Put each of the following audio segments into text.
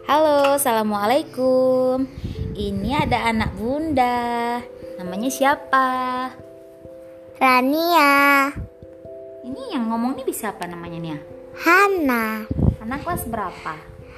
Halo, assalamualaikum. Ini ada anak bunda. Namanya siapa? Rania. Ini yang ngomong nih bisa apa namanya nih? Hana. Anak kelas berapa?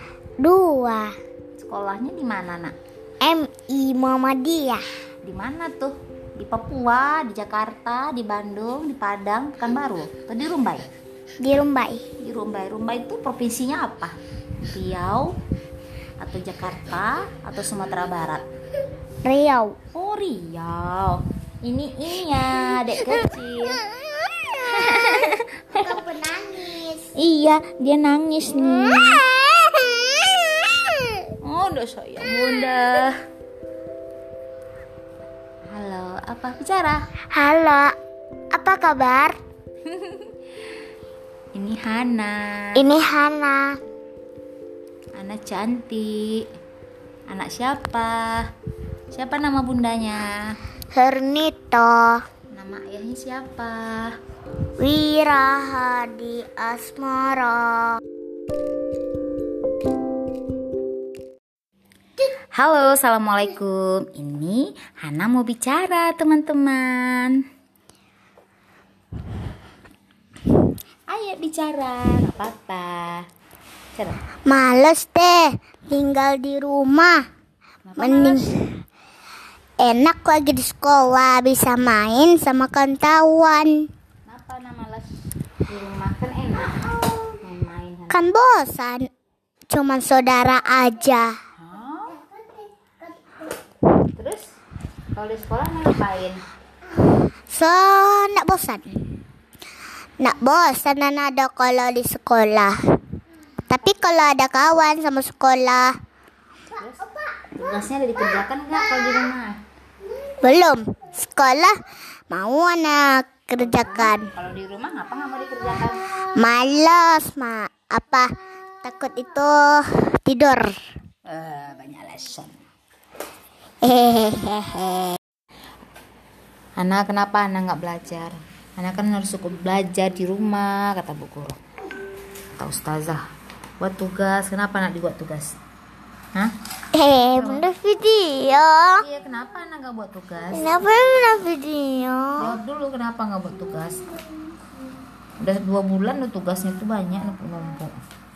2. Sekolahnya di mana, Nak? MI Muhammadiyah. Di mana tuh? Di Papua, di Jakarta, di Bandung, di Padang, Pekanbaru, atau di Rumbai? Di Rumbai. Di Rumbai. Rumbai itu provinsinya apa? Riau atau Jakarta atau Sumatera Barat? Riau. Oh, Riau. Ini ya, dek kecil. Kamu penangis. Iya, dia nangis nih. Oh, udah sayang bunda. Halo, apa bicara? Halo. Apa kabar? Ini Hana. Ini Hana. Anak cantik. Anak siapa? Siapa nama bundanya? Hernito. Nama ayahnya siapa? Wirahadi Asmara. Halo, assalamualaikum. Ini Hana mau bicara, teman-teman. Ayo bicara, nggak apa-apa. Bicara. Males deh tinggal di rumah. Mending enak lagi di sekolah, bisa main sama kawan-kawan. Kenapa nama les di rumah kan enak main-main? Kan bosan, cuman saudara aja. Hah? Terus kalau di sekolah ngapain? Nak bosan. Nak bosan ada kalau di sekolah. Tapi kalau ada kawan sama sekolah. Terus tugasnya ada dikerjakan nggak kalau di rumah? Belum. Sekolah mau anak kerjakan. Kalau di rumah ngapa nggak mau dikerjakan? Malas, takut itu tidur. Banyak alasan. Hehehe. Ana, kenapa Ana nggak belajar? Ana kan harus cukup belajar di rumah, kata bu guru, kata ustazah. Buat tugas, kenapa Ana dibuat tugas? Hah? Bunda video. Iya, kenapa Ana nggak buat tugas? Kenapa bunda video? Jawab dulu, kenapa nggak buat tugas? Udah 2 bulan tuh tugasnya tuh banyak numpuk-numpuk.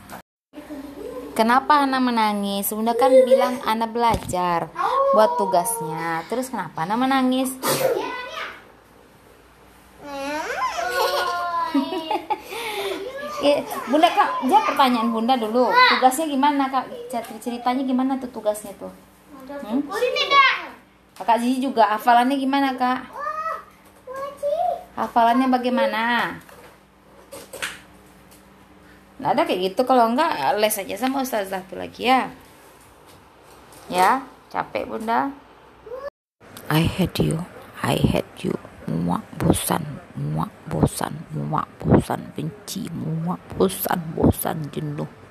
Kenapa Ana menangis? Bunda kan bilang Ana belajar buat tugasnya. Terus kenapa Ana menangis? Bunda, Kak, jawab pertanyaan Bunda dulu. Tugasnya gimana, Kak? Ceritanya gimana tuh tugasnya tuh? Kakak Zizi juga hafalannya gimana, Kak? Hafalannya bagaimana? Nah, ada kayak gitu. Kalau enggak, les aja sama ustazah tuh lagi ya. Ya, capek Bunda. I hate you. I hate you. Muak, bosan. Muak, bosan. Muak, bosan. Benci. Muak, bosan. Bosan, jenuh.